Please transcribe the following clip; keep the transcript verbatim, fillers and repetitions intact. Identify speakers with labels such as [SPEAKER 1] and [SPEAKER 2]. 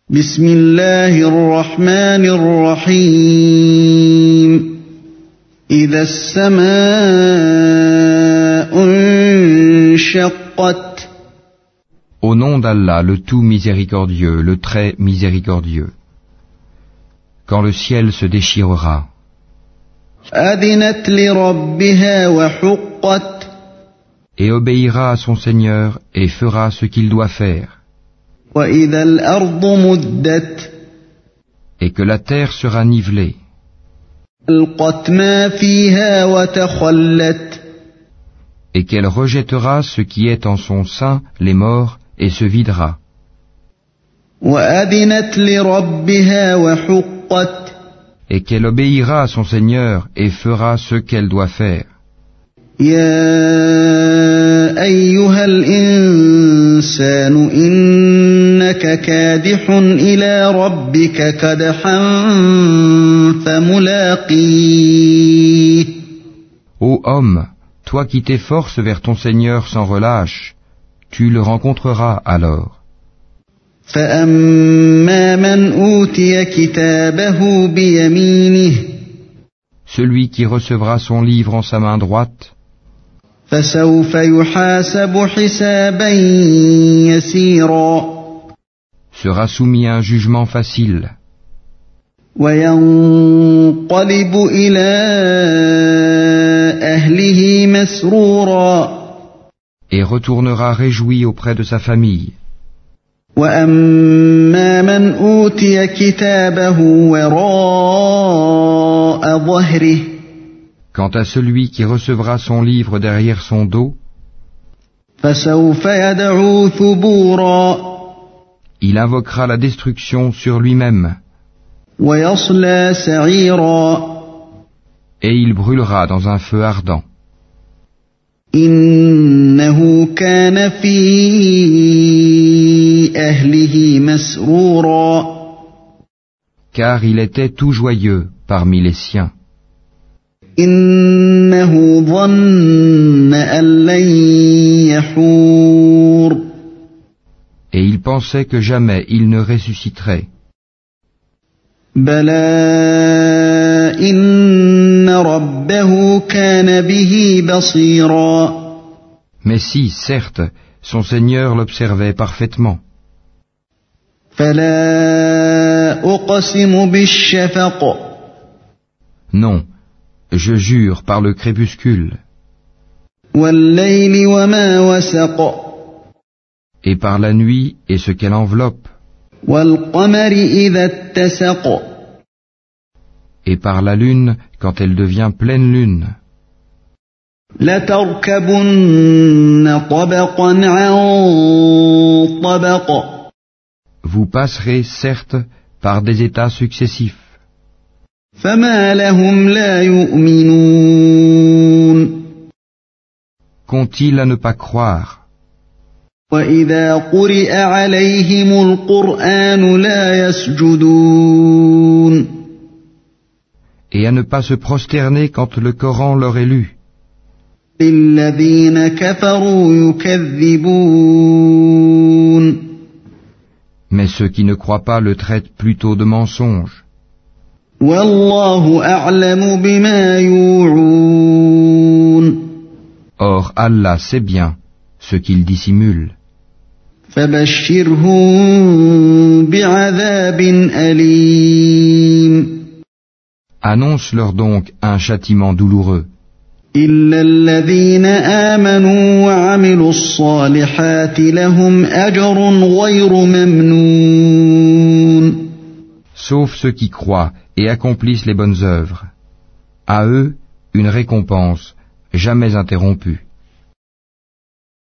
[SPEAKER 1] بسم الله الرحمن الرحيم إذا السماء انشقت.
[SPEAKER 2] Au nom d'Allah, le tout miséricordieux, le très miséricordieux. Quand le ciel se déchirera.
[SPEAKER 1] أذنت لربها وحقت.
[SPEAKER 2] Et obéira à son Seigneur et fera ce qu'il doit faire.
[SPEAKER 1] وإذا الأرض مدت.
[SPEAKER 2] Et que la terre sera nivelée.
[SPEAKER 1] ألقت ما فيها وتخلت.
[SPEAKER 2] Et qu'elle rejettera ce qui est en son sein, les morts, et se videra.
[SPEAKER 1] وأذنت لربها وحقت.
[SPEAKER 2] Et qu'elle obéira à son Seigneur et fera ce qu'elle doit faire.
[SPEAKER 1] يا أيها الإنسان إنك كادح إلى ربك كدحا فملاقيه.
[SPEAKER 2] Ô homme, toi qui t'efforces vers ton Seigneur sans relâche, tu le rencontreras alors.
[SPEAKER 1] فأما من أوتي كتابه بيمينه.
[SPEAKER 2] Celui qui recevra son livre en sa main droite,
[SPEAKER 1] فسوف يحاسب حسابا يسيرا.
[SPEAKER 2] sera soumis à un jugement facile.
[SPEAKER 1] وينقلب إلى أهله مسرورا.
[SPEAKER 2] Et retournera réjoui auprès de sa famille.
[SPEAKER 1] وأما من أوتي كتابه وراء ظهره.
[SPEAKER 2] Quant à celui qui recevra son livre derrière son dos,
[SPEAKER 1] فسوف يدعو ثبورا.
[SPEAKER 2] il invoquera la destruction sur lui-même.
[SPEAKER 1] ويصلى سعيرا.
[SPEAKER 2] Et il brûlera dans un feu ardent.
[SPEAKER 1] إنه كان في أهله مسرورا.
[SPEAKER 2] Car il était tout joyeux parmi les siens.
[SPEAKER 1] إنه ظن أن لن يحور.
[SPEAKER 2] Et il pensait que jamais il ne ressusciterait.
[SPEAKER 1] بلى إن ربه كان به بصيرا.
[SPEAKER 2] Mais si, certes, son Seigneur l'observait parfaitement.
[SPEAKER 1] فلا أقسم بالشفق.
[SPEAKER 2] Non, je jure par le crépuscule.
[SPEAKER 1] والليل وما وسق.
[SPEAKER 2] Et par la nuit et ce qu'elle enveloppe.
[SPEAKER 1] والقمر إذا اتسق.
[SPEAKER 2] Et par la lune quand elle devient pleine lune.
[SPEAKER 1] لتركبن طبقا عن طبق.
[SPEAKER 2] Vous passerez, certes, par des états successifs.
[SPEAKER 1] فما لهم لا يؤمنون.
[SPEAKER 2] Qu'ont-ils à ne pas croire?
[SPEAKER 1] وإذا قرئ عليهم القرآن لا يسجدون.
[SPEAKER 2] Et à ne pas se prosterner quand le Coran leur est lu.
[SPEAKER 1] للذين كفروا يكذبون.
[SPEAKER 2] Mais ceux qui ne croient pas le traitent plutôt de mensonge.
[SPEAKER 1] والله أعلم بما يوعون.
[SPEAKER 2] Or Allah sait bien ce qu'ils dissimulent.
[SPEAKER 1] فبشرهم بعذاب أليم.
[SPEAKER 2] Annonce-leur donc un châtiment douloureux.
[SPEAKER 1] إلا الذين آمنوا وعملوا الصالحات لهم أجر غير ممنون.
[SPEAKER 2] Sauf ceux qui croient et accomplissent les bonnes œuvres. À eux, une récompense jamais interrompue.